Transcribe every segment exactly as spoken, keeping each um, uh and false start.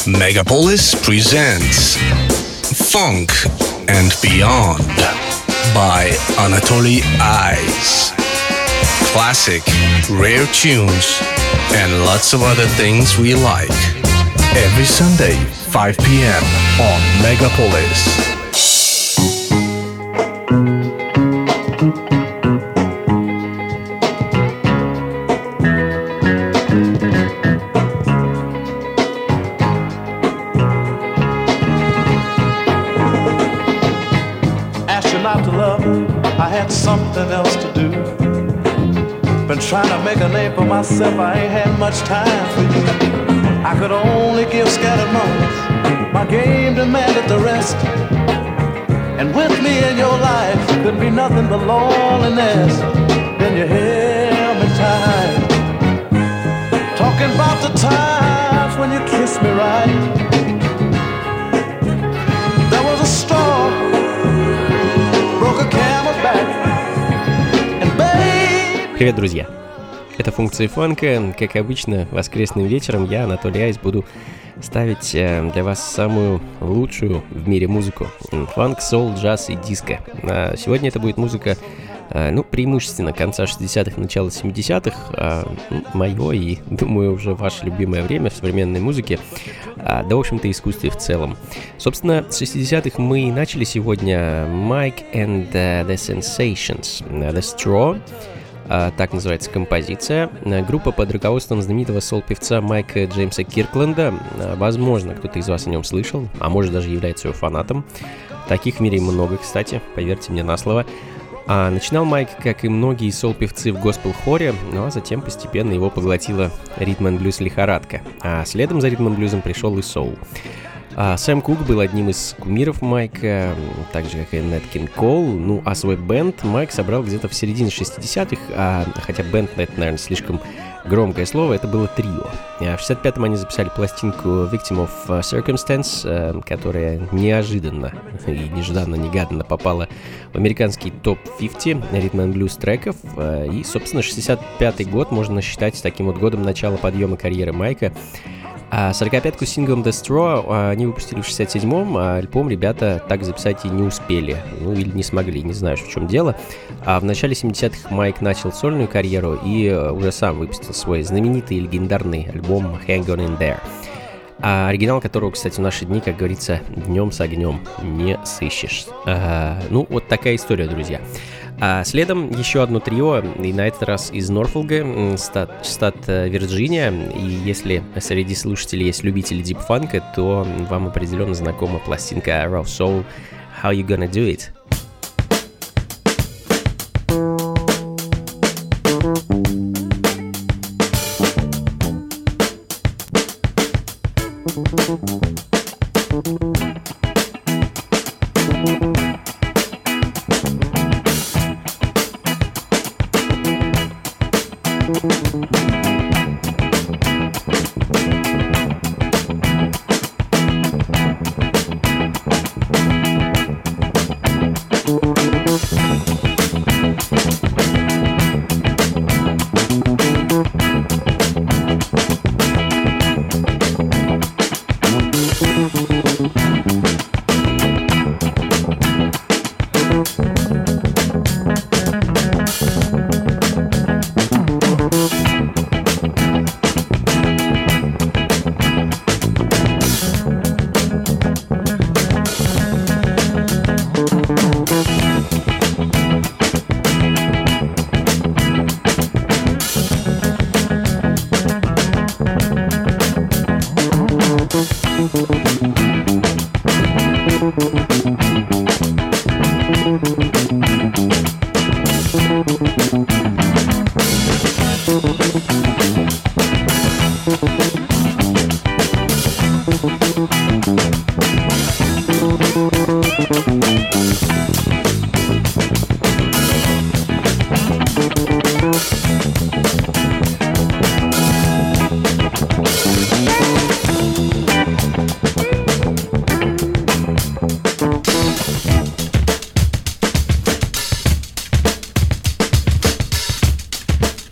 Megapolis presents Funk and Beyond by Anatoly Eyes. Classic, rare tunes, and lots of other things we like. Every Sunday, five p.m. on Megapolis. Something else to do. Been trying to make a name for myself. I ain't had much time for you. I could only give scattered moments. My game demanded the rest. And with me in your life could be nothing but loneliness. Then you held me tight, talking about the times when you kissed me right. There was a straw, broke a camel's back. Привет, друзья! Это функции фанка. Как обычно, воскресным вечером я, Анатолий Айс, буду ставить для вас самую лучшую в мире музыку. Фанк, соул, джаз и диско. А сегодня это будет музыка, ну, преимущественно конца шестидесятых, начала семидесятых. Мое и, думаю, уже ваше любимое время в современной музыке. Да, в общем-то, искусстве в целом. Собственно, с шестидесятых мы и начали сегодня Mike and the Sensations, The Straw. Так называется композиция. Группа под руководством знаменитого сол-певца Майка Джеймса Киркленда. Возможно, кто-то из вас о нем слышал, а может даже является его фанатом. Таких в мире много, кстати, поверьте мне на слово. А начинал Майк, как и многие сол-певцы, в госпел-хоре, ну а затем постепенно его поглотила ритм-н-блюз лихорадка. А следом за ритм-н-блюзом пришел и соул. А Сэм Кук был одним из кумиров Майка, так же, как и Нэт Кинг Кол. Ну, а свой бэнд Майк собрал где-то в середине шестидесятых, а, хотя бэнд, это, наверное, слишком громкое слово, это было трио. А в шестьдесят пятом они записали пластинку Victim of Circumstance, которая неожиданно и нежданно-негаданно попала в американский топ пятьдесят ритм-н-блюз треков. И, собственно, шестьдесят пятый год можно считать таким вот годом начала подъема карьеры Майка. А сорокапятку с синглом The Straw они выпустили в шестьдесят седьмом, а альбом ребята так записать и не успели, ну или не смогли, не знаю, в чем дело. А в начале семидесятых Майк начал сольную карьеру и уже сам выпустил свой знаменитый и легендарный альбом Hang On In There, а оригинал которого, кстати, в наши дни, как говорится, днем с огнем не сыщешь. А, ну, вот такая история, друзья. А следом еще одно трио, и на этот раз из Норфолка, штат, штат Вирджиния. И если среди слушателей есть любители дип-фанка, то вам определенно знакома пластинка Raw Soul How You Gonna Do It.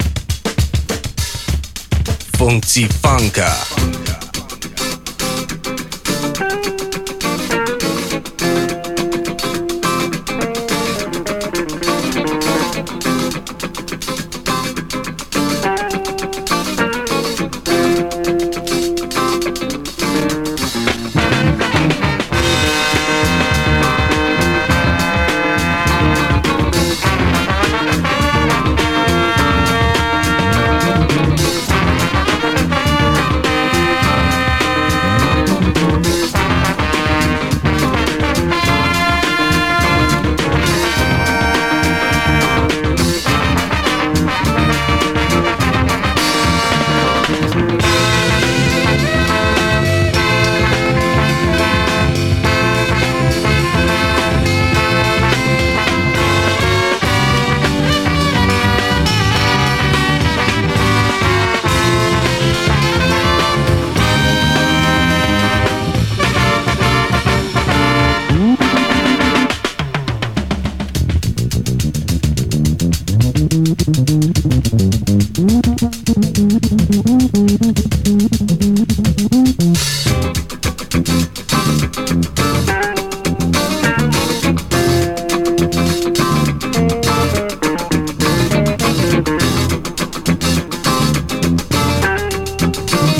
Funky Funka.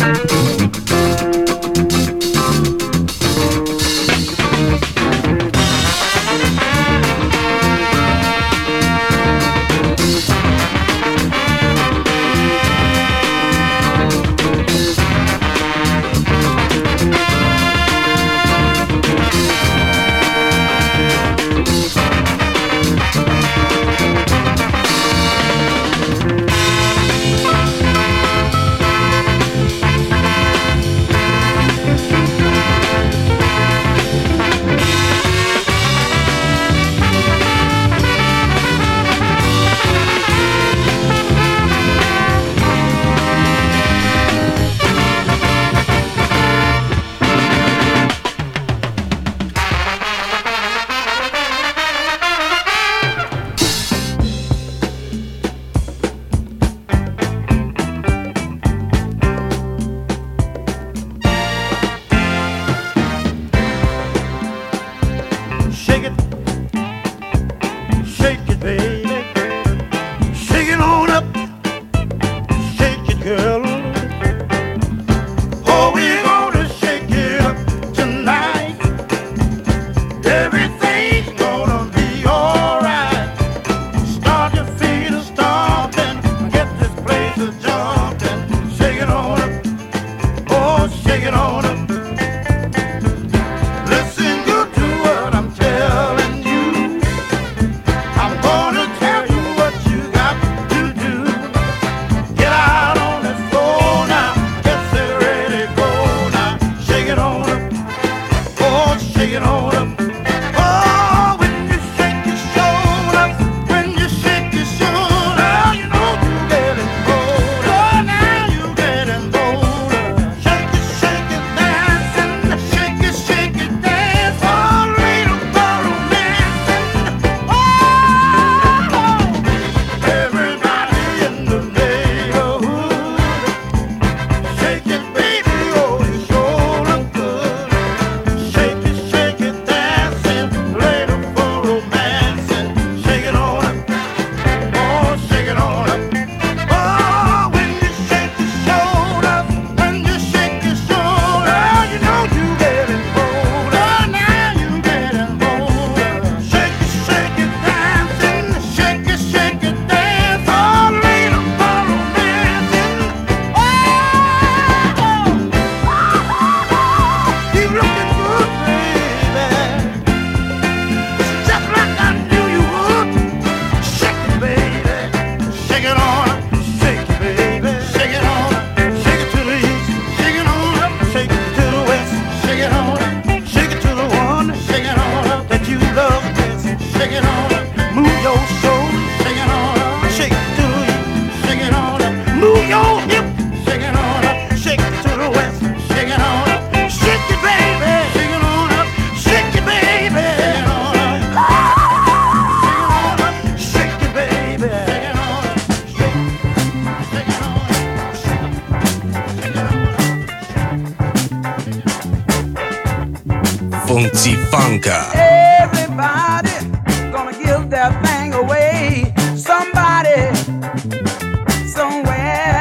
Funky Funka. Everybody gonna give their thing away. Somebody, somewhere.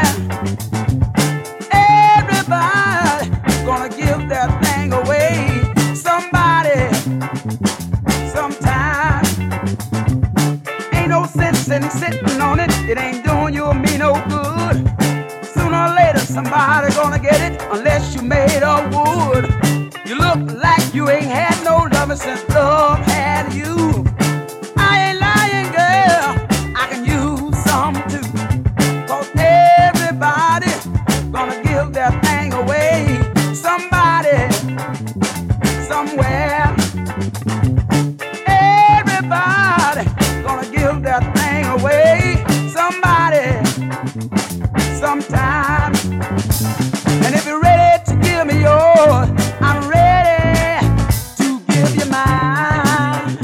Everybody gonna give their thing away. Somebody, sometime. Ain't no sense in sitting on it. It ain't doing you or me no good. Sooner or later, somebody gonna get it unless you made of wood. You look like you ain't had no loving since love had you. I ain't lying, girl, I can use some too. Cause everybody gonna give their thing away. Somebody, somewhere. Everybody gonna give their thing away. Somebody, sometime. And if you're ready to give me yours, I'm ready to give you mine.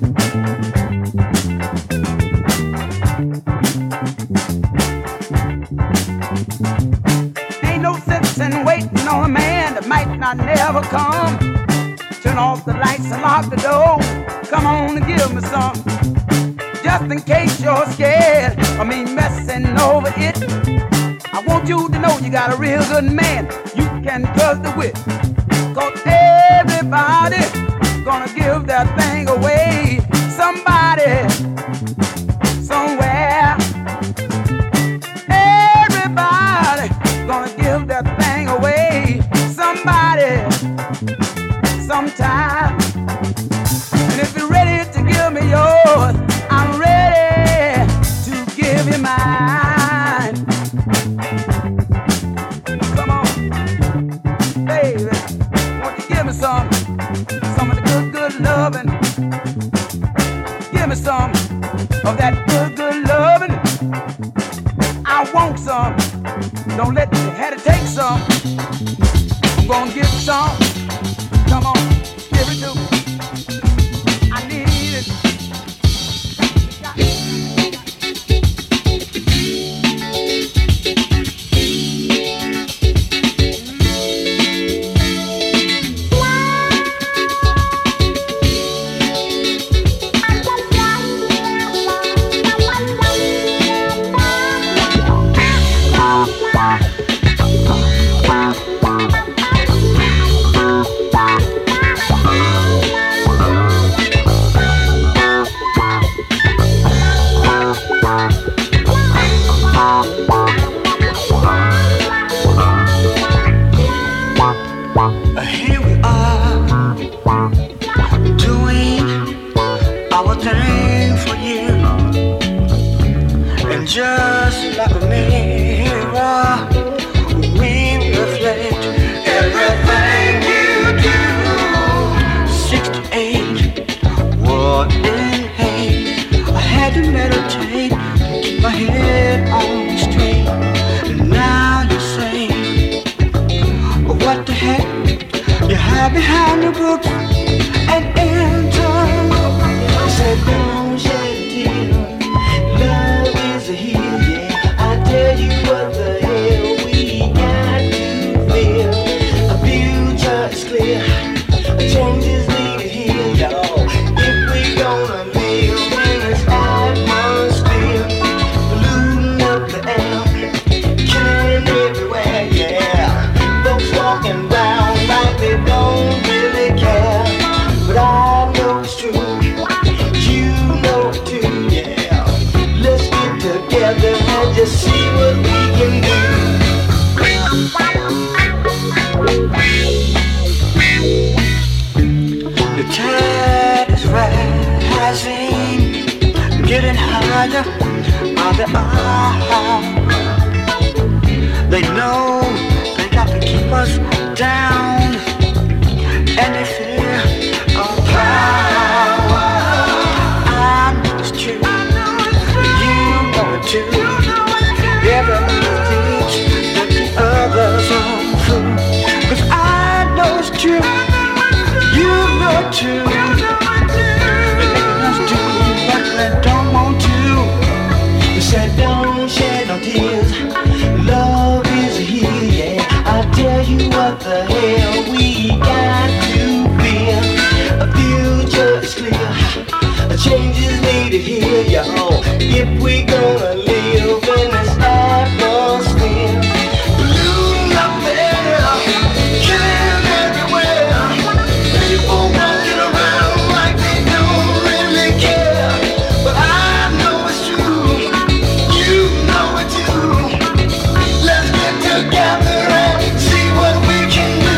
Ain't no sense in waiting on a man that might not never come. Turn off the lights and lock the door. Come on and give me some. Just in case you're scared of me messing over it, I want you to know you got a real good man you can trust it with. Cause everybody gonna give that thing away. Somebody, somewhere. Everybody gonna give that thing away. Somebody, sometime. And if you're ready to give me yours, I'm ready to give you mine. Come on, baby, won't you give me some, some of the good, good loving. Give me some of that good, good loving. I want some. Don't let me have to take some. I'm gonna give some. Come on, give it to me. I need it. Here we are, doing our thing for you. And just like a mirror, we reflect everything you do. Sixty-eight, what in hate? I had to meditate, keep my head on straight. And now you say, what the heck? You hide behind the books and enter. I said, don't shed a tear. Love is a heal, yeah. I tell you what the hell we got to feel. A future is clear. A change is needed here, y'all. If we gonna live in this atmosphere, polluting up the air, killing everywhere, yeah. Folks walking round like they don't really care, but I know it's true, you know it too, yeah. Let's get together and just see what we can do. The tide is rising, getting higher on the eye. They know they got to keep us down, and they fear our power. I know it's true, you know it too. Everybody thinks that the others are fool, 'cause I know it's true, you know it too. They're making us do what they don't want to. They said don't shed no tears, love is a heal, yeah. I tell you what the hell we got to feel. A future is clear, a change is needed here, y'all. If we gonna live in this atmosphere, polluting up there, killing everywhere. People walking around like they don't really care, but I know it's true, you know it too. Let's get together and see what we can do.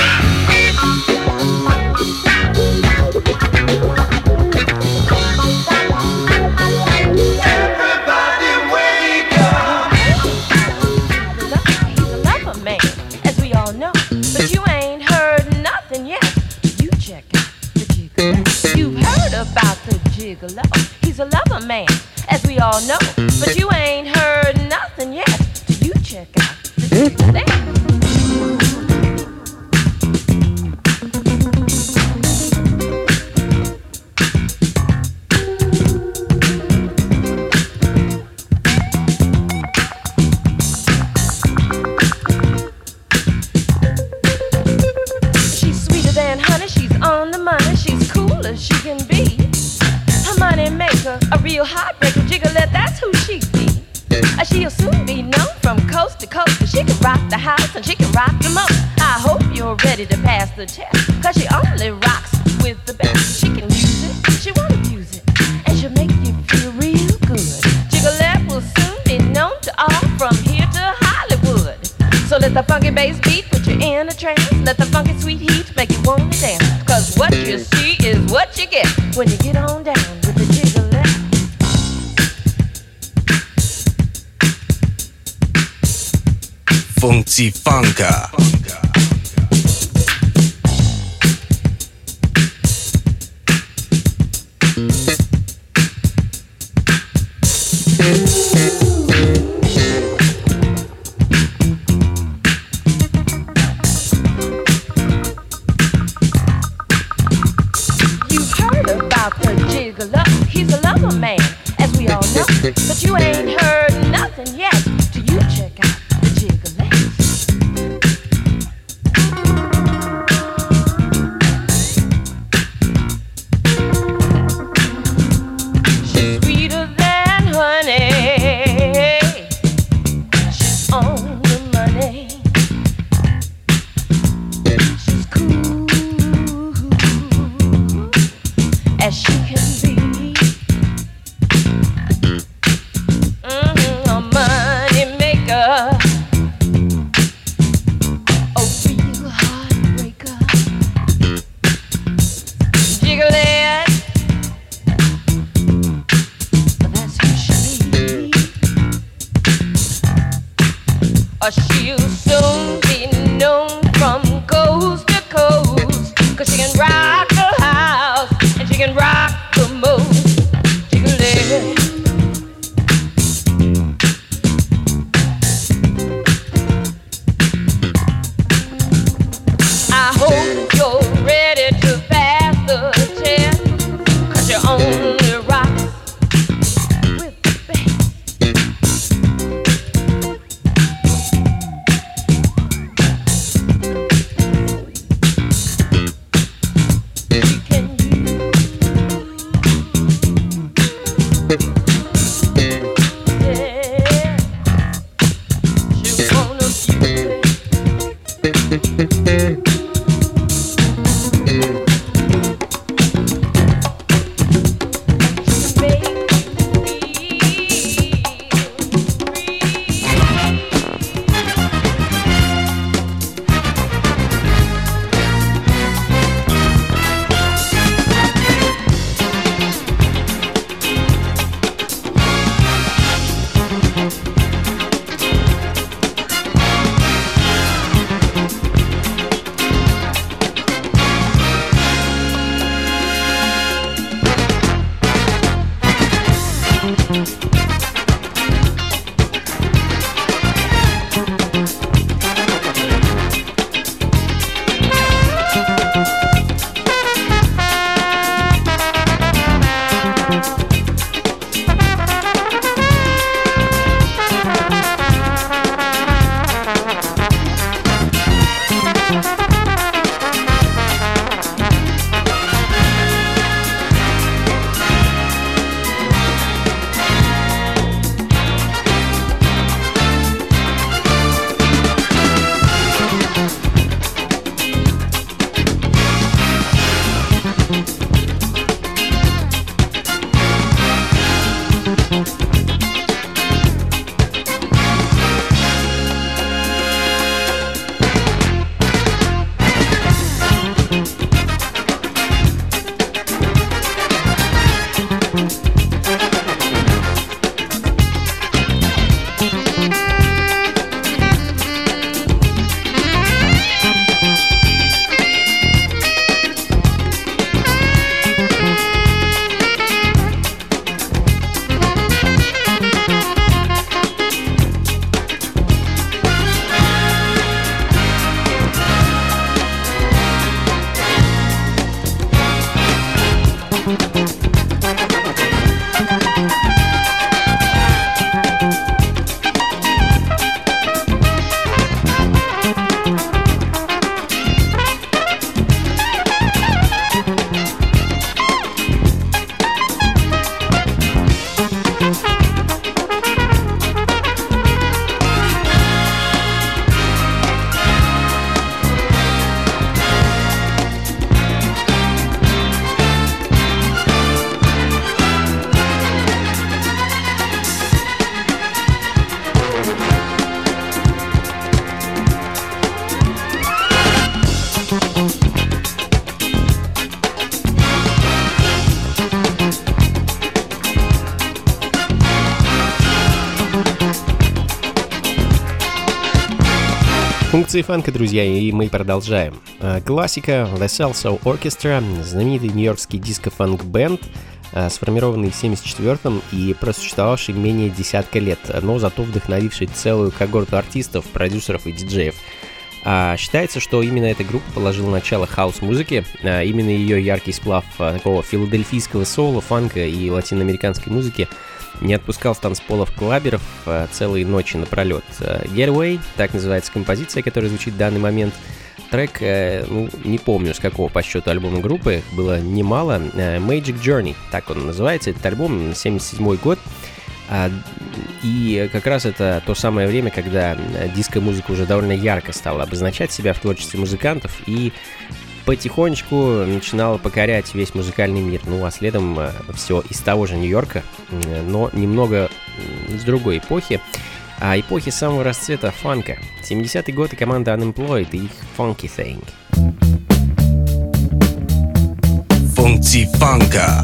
Everybody wake up. He's a lover man, as we all know, but you ain't heard nothing yet. You check out the gigolo. You've heard about the gigolo. He's a lover man, as we all know, but you ain't heard nothing yet. You check out the gigolo. She's sweeter than honey, she's on the money, she's cool as she can be. Her money maker, a real heartbreaker, Jiggalette, that's who she be. Uh, She'll soon be known from coast to rock the house and she can rock the most. I hope you're ready to pass the test, cause she only rocks with the best. She can use it, she won't abuse it, and she'll make you feel real good. Jiggalette will soon be known to all from here to Hollywood. So let the funky bass beat put you in a trance. Let the funky sweet heat make you wanna dance. Cause what you see is what you get when you get on down with the jiggalette. Funky Funka. You've heard about the gigolo. He's a lover man, as we all know. But you ain't heard nothing yet till you check out the jiggalette. She's sweeter than honey. She's on the money. She's cool as she can be. Mm-hmm, a money maker, a real heartbreaker. Jiggalette, that's who she be. Or she'll soon be known from coast to coast, cause she can rock the house and she can rock the most. Jiggalette. I hope you're ready to pass the test, cause you only rock with the best. She can use, yeah. She wanna use it. Функции фанка, друзья, и мы продолжаем. Классика The Salsoul Orchestra, знаменитый нью-йоркский диско-фанк-бенд, сформированный в семьдесят четвёртом и просуществовавший менее десятка лет, но зато вдохновивший целую когорту артистов, продюсеров и диджеев. А считается, что именно эта группа положила начало хаус-музыке, а именно ее яркий сплав такого филадельфийского соула, фанка и латиноамериканской музыки не отпускал с танцполов клаберов целые ночи напролет. Getaway, так называется композиция, которая звучит в данный момент. Трек, ну, не помню с какого по счету альбома группы, было немало. Magic Journey, так он называется, этот альбом, семьдесят седьмой год. И как раз это то самое время, когда диско-музыка уже довольно ярко стала обозначать себя в творчестве музыкантов и потихонечку начинала покорять весь музыкальный мир. Ну а следом все из того же Нью-Йорка, но немного из другой эпохи. А эпохи самого расцвета фанка. семидесятые годы, команда Unemployed и их Funky Thing. Funky Funka.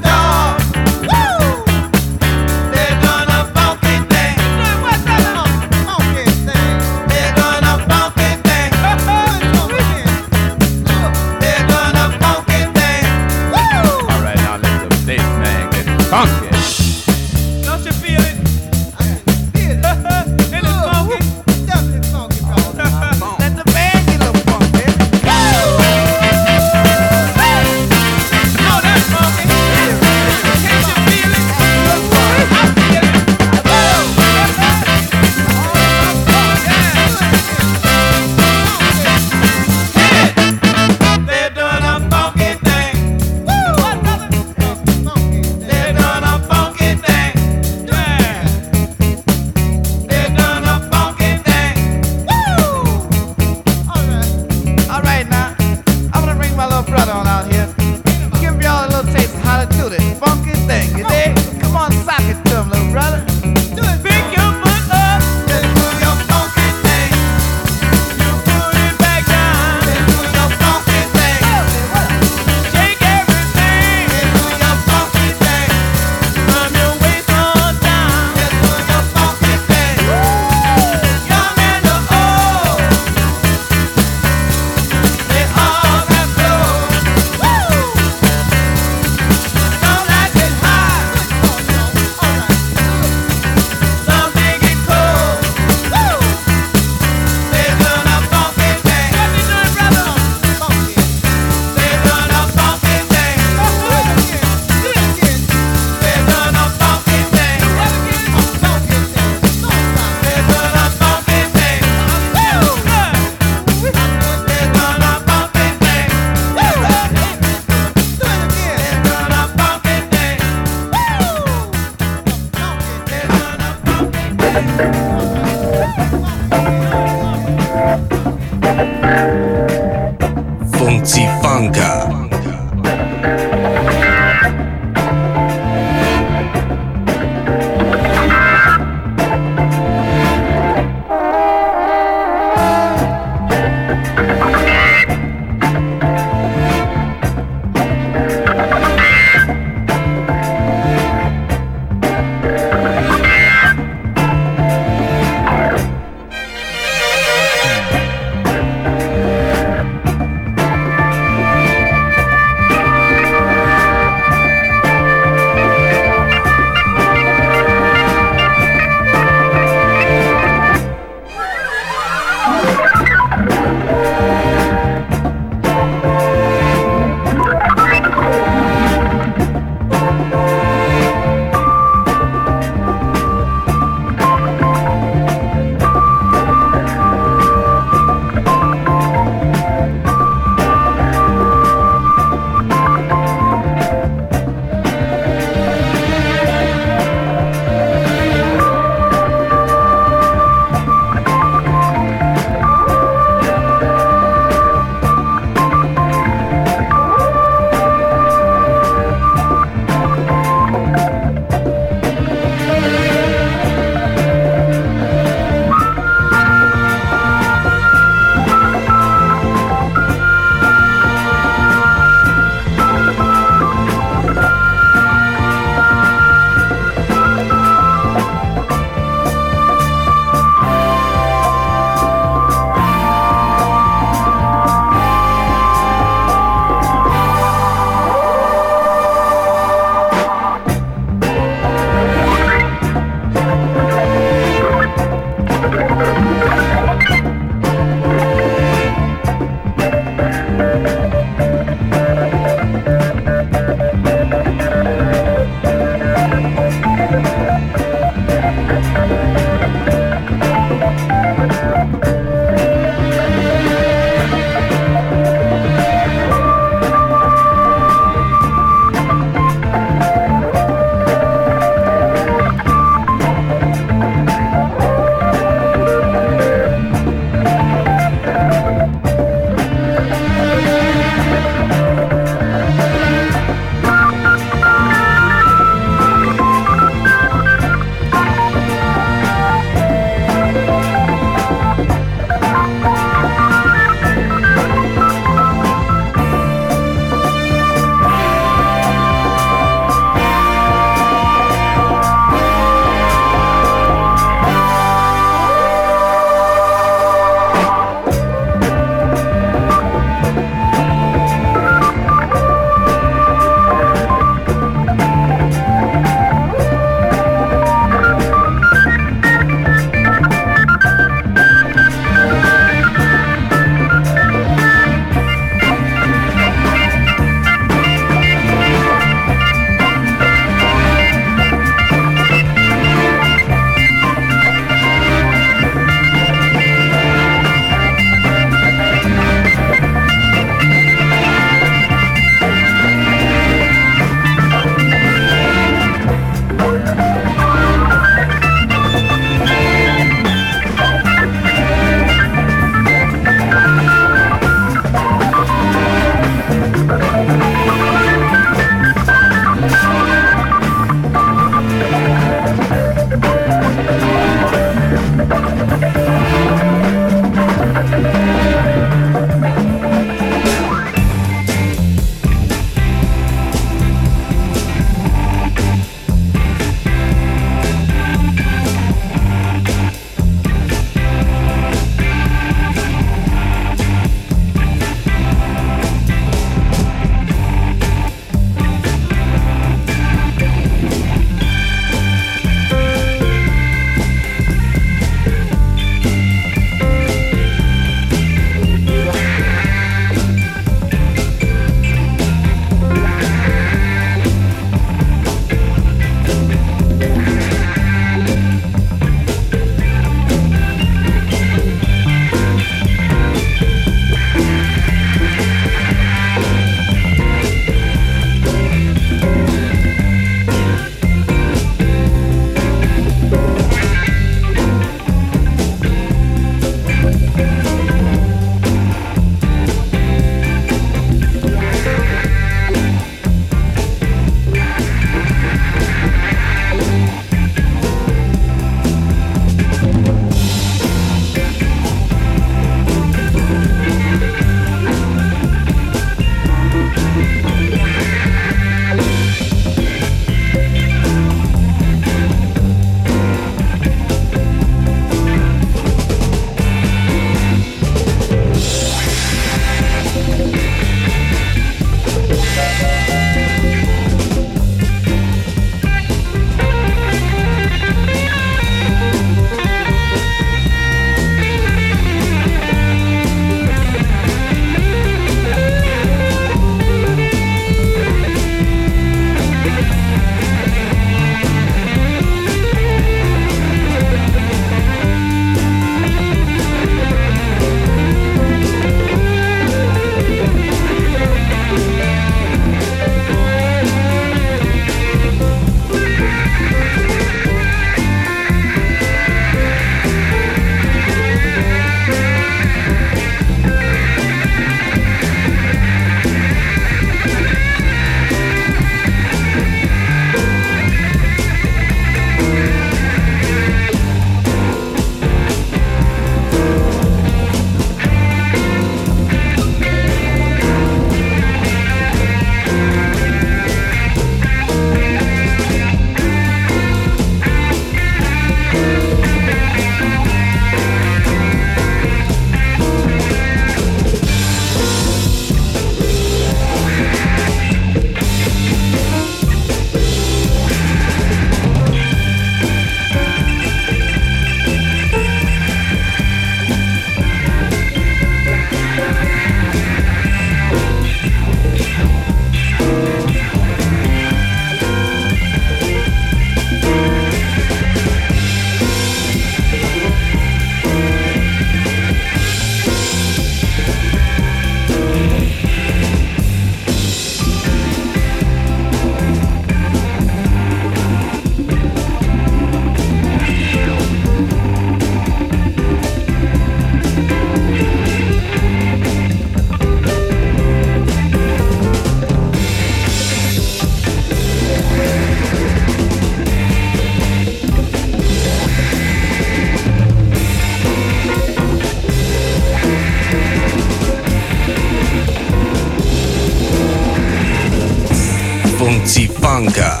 Funky Funka.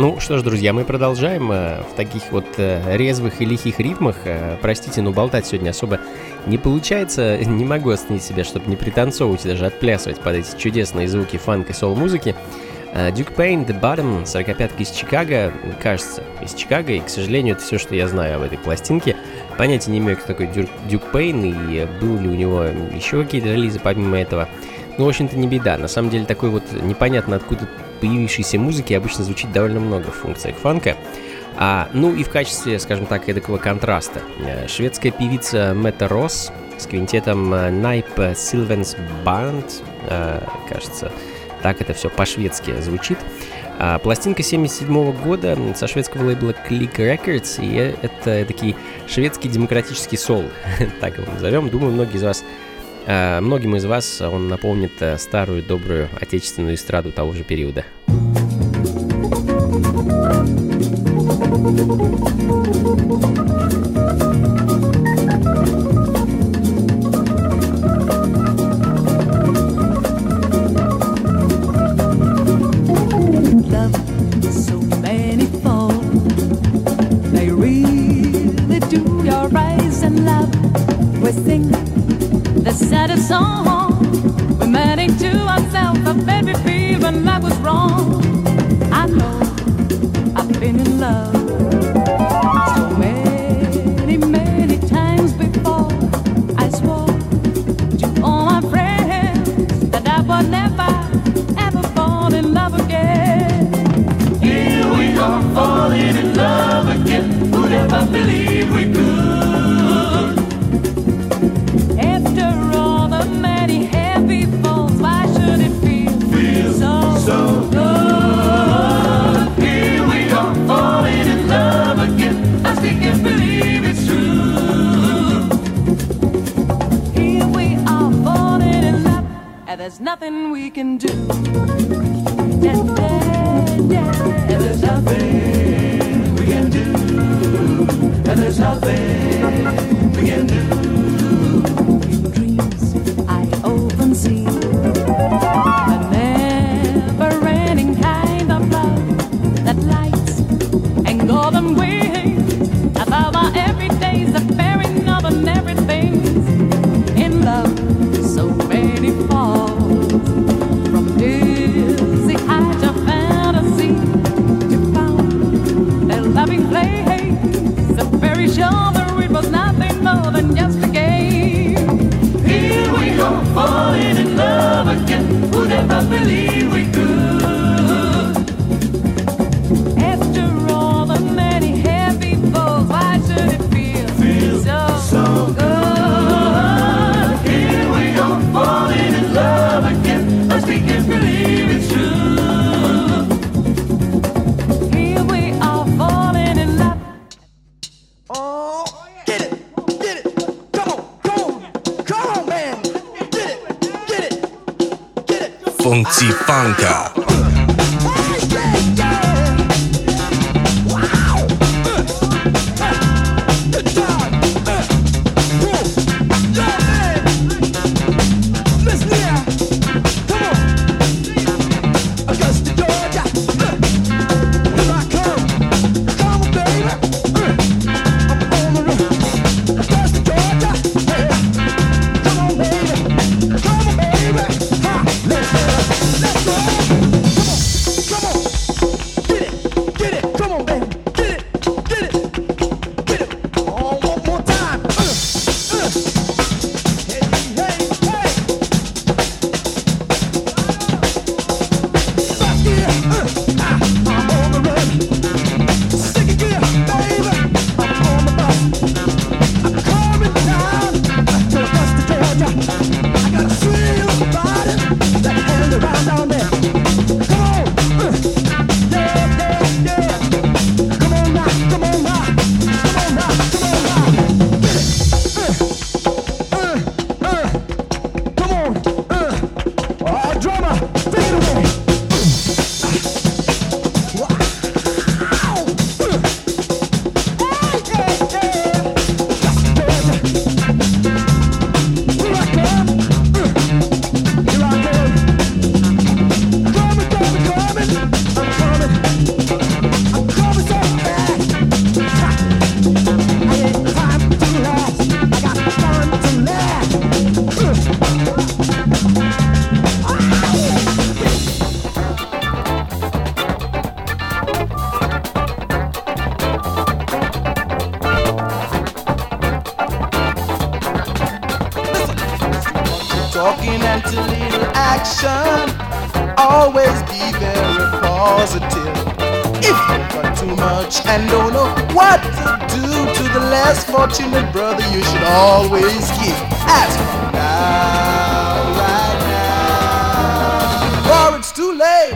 Ну что ж, друзья, мы продолжаем в таких вот резвых и лихих ритмах. Простите, но болтать сегодня особо не получается. Не могу остановить себя, чтобы не пританцовывать и даже отплясывать под эти чудесные звуки фанк и сол-музыки. Duke Payne, The Bottom, сорокопятка из Чикаго, кажется, из Чикаго, и, к сожалению, это все, что я знаю об этой пластинке. Понятия не имею, кто такой Duke Payne, и был ли у него еще какие-то релизы помимо этого. Ну, в общем-то, не беда. На самом деле, такой вот непонятно откуда появившейся музыки обычно звучит довольно много в функциях фанка. А, ну и в качестве, скажем так, эдакого контраста. Шведская певица Мэтта Росс с квинтетом Найп Сильвенс Банд, кажется, так это все по-шведски звучит. А, пластинка семьдесят седьмого года со шведского лейбла Click Records, и это такой шведский демократический сол, так его назовем. Думаю, многие из вас, а, многим из вас он напомнит старую добрую отечественную эстраду того же периода. The saddest song we made into ourselves, a baby feel when love was wrong. I know I've been in love so many, many times before. I swore to all my friends that I would never, ever fall in love again. Here we are falling in love again. Who'd ever believe we could? So good. Here we are falling in love again. I still can't believe it's true. Here we are falling in love, and there's nothing we can do. Yeah, yeah, yeah. And there's nothing we can do. And there's nothing we can do. In dreams I often see golden wings above our everydays, the bearing of and everything. In love, so many falls from dizzy height to fantasy to found their loving place. So very sure that it was nothing more than just a game. Here we go, falling in love again. Who'd ever believe we could? So good. Here we go, falling in love again. As we can't believe it's true. Here we are falling in love. Oh, get it, get it. Come on, come on, come on, man. Get it, get it, get it. Funky Funka. Let's go. talking and too little action. Always be very positive. If you've got too much and don't know what to do to the less fortunate brother, you should always give. As from now, right now, or it's too late.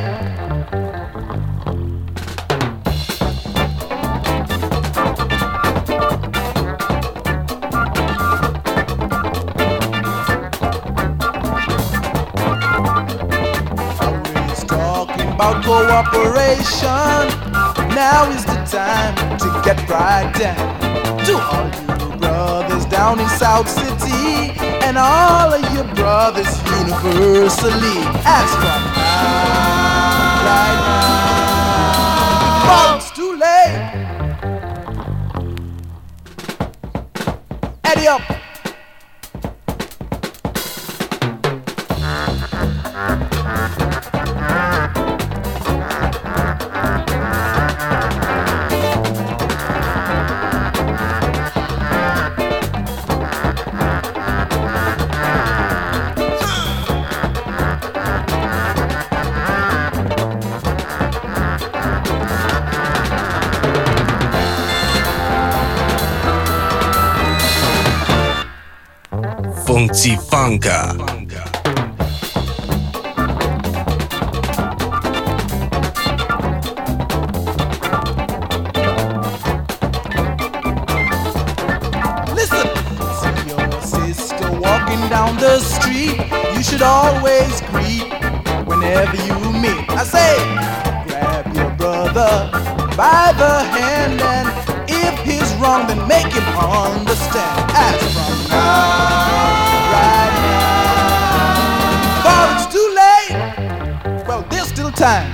About cooperation, now is the time to get right down. To all you brothers down in South City, and all of your brothers universally. As from now, right now, oh, it's too late. Eddie up. Funky Funka. Listen, see your sister walking down the street, you should always greet whenever you meet. I say, grab your brother by the hand, and if he's wrong, then make him understand. As from now, right now, for it's too late. Well, there's still time.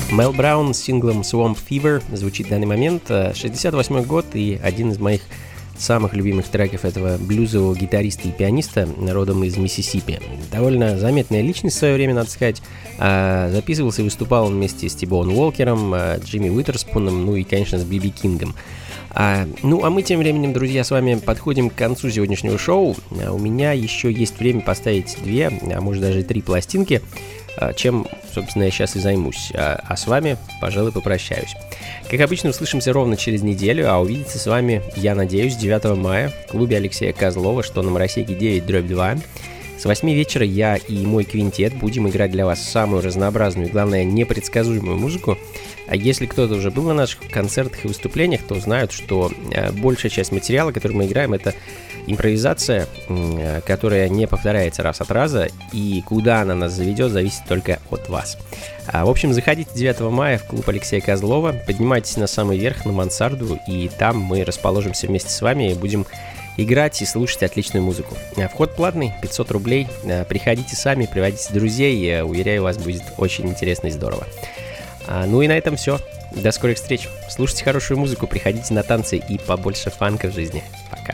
Мел Браун с синглом Swamp Fever звучит в данный момент. шестьдесят восьмой год и один из моих самых любимых треков этого блюзового гитариста и пианиста, родом из Миссисипи. Довольно заметная личность в свое время, надо сказать. Записывался и выступал он вместе с Ти-Боун Уолкером, Джимми Уитерспуном, ну и, конечно, с Би Би Кингом. А, ну, а мы тем временем, друзья, с вами подходим к концу сегодняшнего шоу. А у меня еще есть время поставить две, а может даже три пластинки, чем, собственно, я сейчас и займусь. А, а с вами, пожалуй, попрощаюсь. Как обычно, услышимся ровно через неделю, а увидеться с вами, я надеюсь, девятого мая в клубе Алексея Козлова, что на Моросейке девять дробь два. С восьми вечера я и мой квинтет будем играть для вас самую разнообразную и, главное, непредсказуемую музыку. А если кто-то уже был на наших концертах и выступлениях, то знают, что большая часть материала, который мы играем, это импровизация, которая не повторяется раз от раза, и куда она нас заведет, зависит только от вас. В общем, заходите девятого мая в клуб Алексея Козлова, поднимайтесь на самый верх, на мансарду, и там мы расположимся вместе с вами и будем играть и слушать отличную музыку. Вход платный, пятьсот рублей. Приходите сами, приводите друзей. Уверяю, вас будет очень интересно и здорово. Ну и на этом все. До скорых встреч. Слушайте хорошую музыку, приходите на танцы и побольше фанка в жизни. Пока.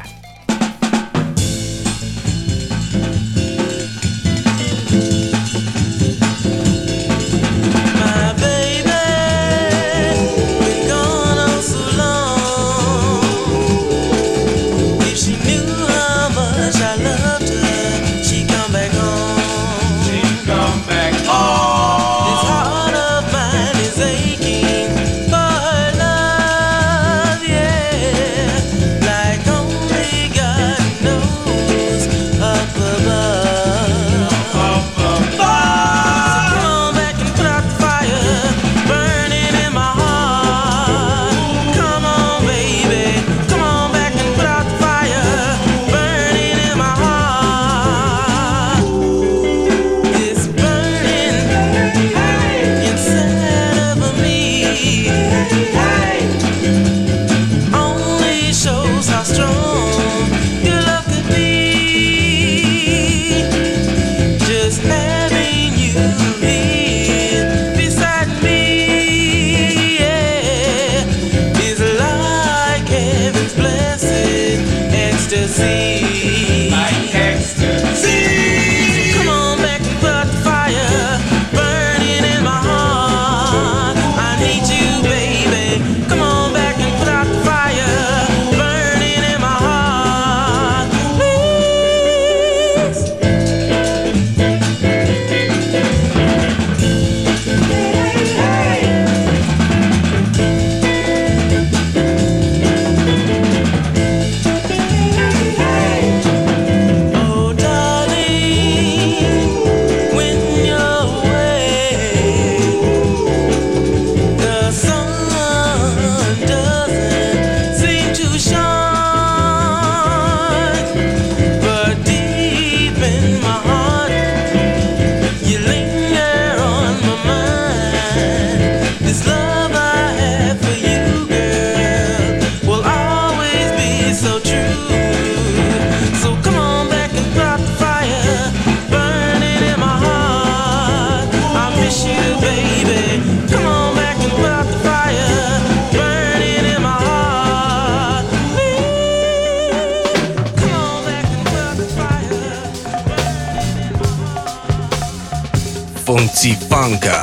Funky-Funka.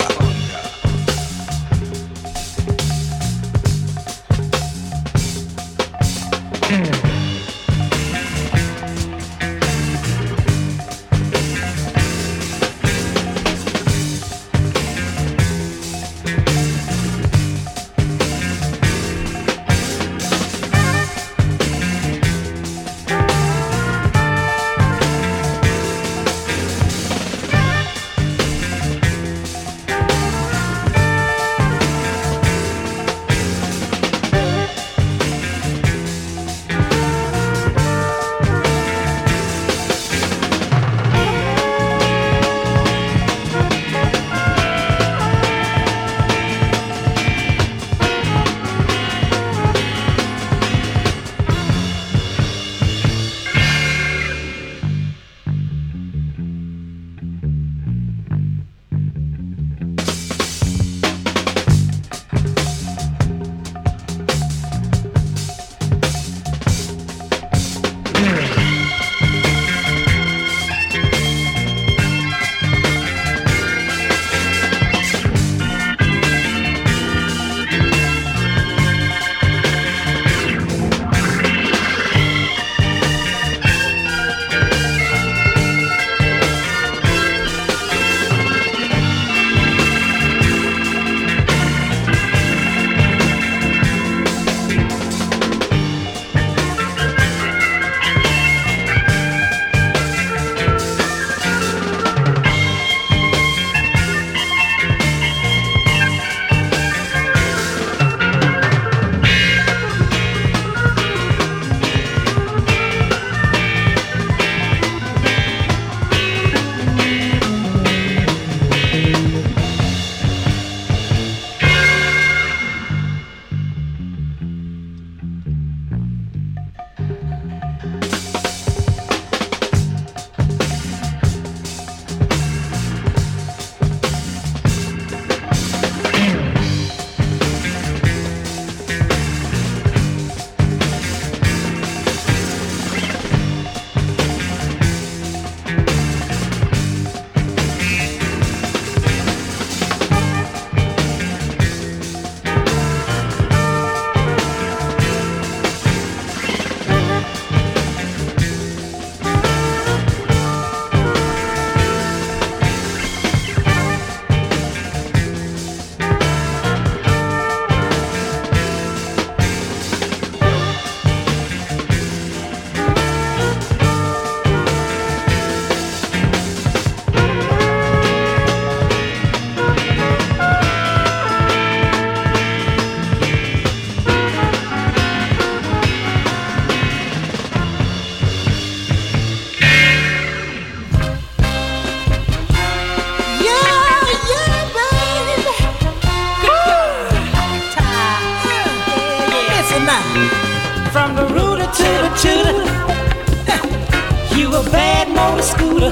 scooter.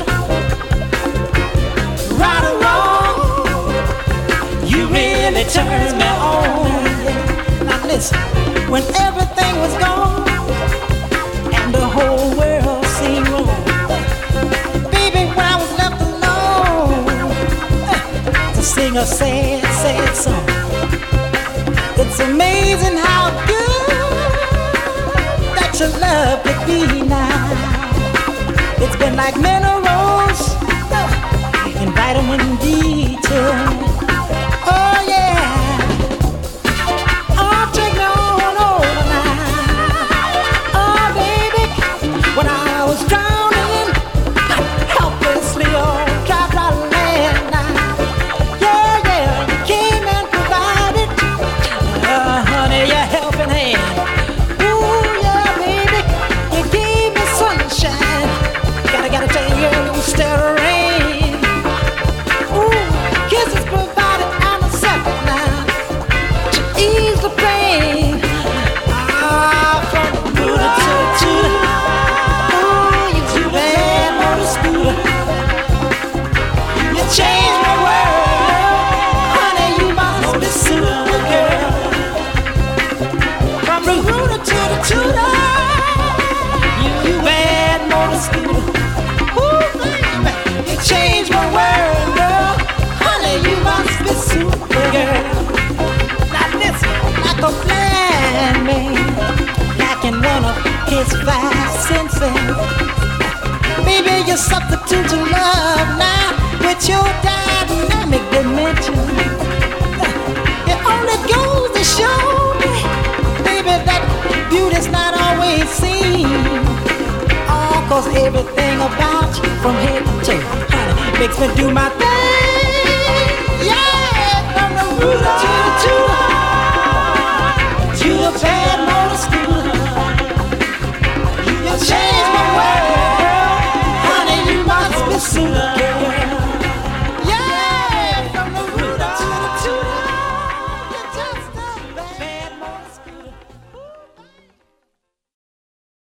Right or wrong, you really turned me on. Now listen, when everything was gone and the whole world seemed wrong, baby, when I was left alone uh, to sing a sad, sad song, it's amazing how good that your love could be now. It's been like minerals uh, and vitamin D too. Oh yeah, oh take me on over now. Oh baby, when I was drowning helplessly on dry, dry land now. Yeah, yeah, you came and provided, uh, honey, your helping hand. Ooh yeah, baby, you gave me sunshine. Gotta, gotta tell you, it was still rain. Ooh, kisses provided, I'm accepted now to ease the pain. Ah, from the booty to the tutor. Ooh, you too bad for the scooter. You changed my world, honey. You must be super girl. From the booty to the tutor. You bad motor scooter. Ooh, baby, you changed my world, girl. Honey, you must be super girl. Now listen, like a blind man, like in one of his five senses. Baby, you substitute to love now with your dynamic dimension. It only goes to show me, baby, that beauty's not always seen. Oh, cause everything about you from head to toe, honey, makes me do my thing. Yeah.